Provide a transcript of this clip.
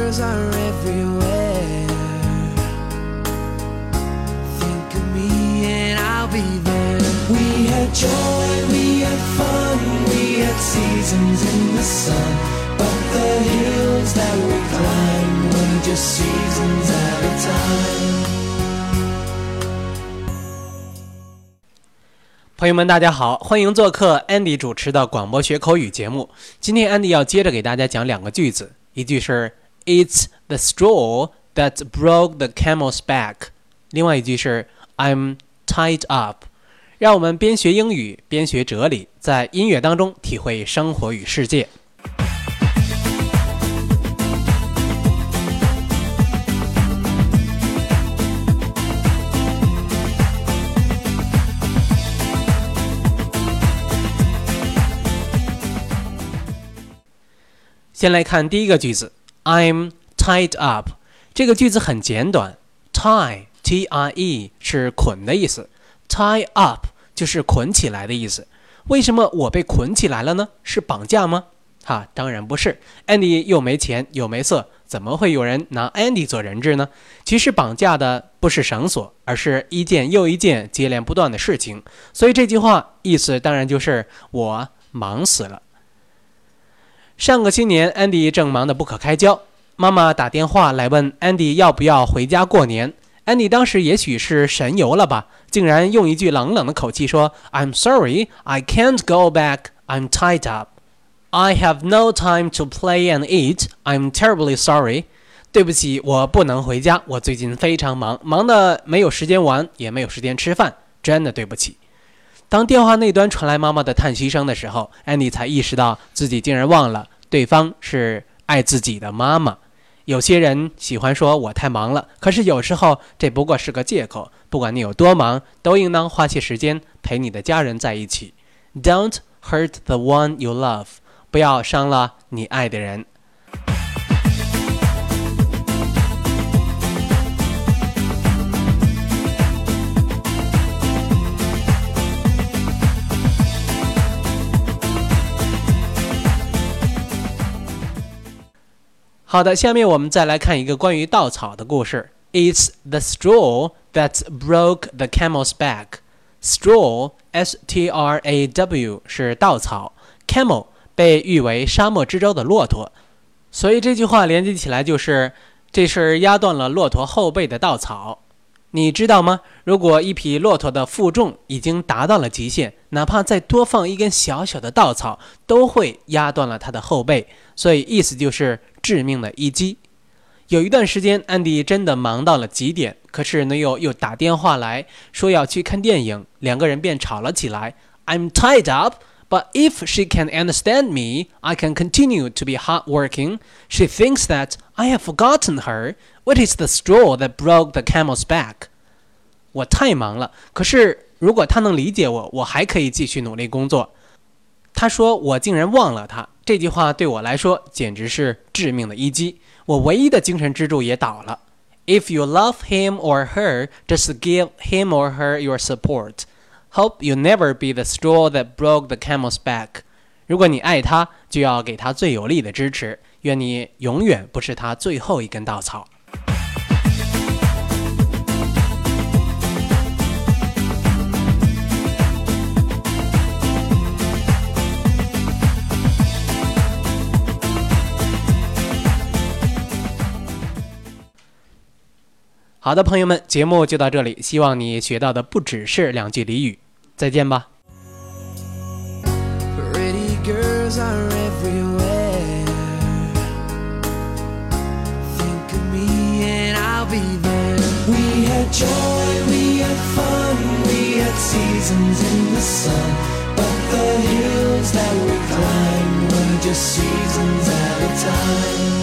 girls are everywhere. Think of me and I'll be there. We had joy, we had fun, we had seasons in the sun, but the hills that we climbed were just seasons at a time. 朋友们大家好，欢迎做客 Andy 主持的广播学口语节目。今天 Andy 要接着给大家讲两个句子，一句是 It's the straw that broke the camel's back， 另外一句是 I'm tied up。 让我们边学英语边学哲理，在音乐当中体会生活与世界。先来看第一个句子 I'm tied up。 这个句子很简短， tie T-I-E 是捆的意思， tie up 就是捆起来的意思。为什么我被捆起来了呢？是绑架吗？当然不是。 Andy 又没钱又没色，怎么会有人拿 Andy 做人质呢？其实绑架的不是绳索，而是一件又一件接连不断的事情。所以这句话意思当然就是我忙死了。上个新年 Andy 正忙得不可开交，妈妈打电话来问 Andy 要不要回家过年。 Andy 当时也许是神游了吧，竟然用一句冷冷的口气说 I'm sorry, I can't go back, I'm tied up. I have no time to play and eat, I'm terribly sorry. 对不起，我不能回家，我最近非常忙，忙得没有时间玩，也没有时间吃饭，真的对不起。当电话那端传来妈妈的叹息声的时候， Andy 才意识到自己竟然忘了对方是爱自己的妈妈。有些人喜欢说我太忙了，可是有时候这不过是个借口。不管你有多忙，都应当花些时间陪你的家人在一起。 Don't hurt the one you love， 不要伤了你爱的人。好的，下面我们再来看一个关于稻草的故事。 It's the straw that broke the camel's back. Straw, S-T-R-A-W 是稻草， Camel 被誉为沙漠之舟的骆驼，所以这句话连接起来就是这是压断了骆驼后背的稻草。你知道吗？如果一匹骆驼的负重已经达到了极限，哪怕再多放一根小小的稻草，都会压断了它的后背，所以意思就是致命的一击。有一段时间安迪真的忙到了极点，可是女友又打电话来说要去看电影，两个人便吵了起来。 I'm tied up, but if she can understand me, I can continue to be hardworking. She thinks that I have forgotten her. What is the straw that broke the camel's back? 我太忙了，可是如果她能理解我，我还可以继续努力工作。她说我竟然忘了她，这句话对我来说简直是致命的一击，我唯一的精神支柱也倒了。 If you love him or her, just give him or her your support. Hope you never be the straw that broke the camel's back. 如果你爱他，就要给他最有力的支持，愿你永远不是他最后一根稻草。好的，朋友们，节目就到这里，希望你学到的不只是两句俚语。再见吧。 Pretty girls are everywhere. Think of me and I'll be there. We had joy, we had fun, we had seasons in the sun, but the hills that we climbed were just seasons at a time.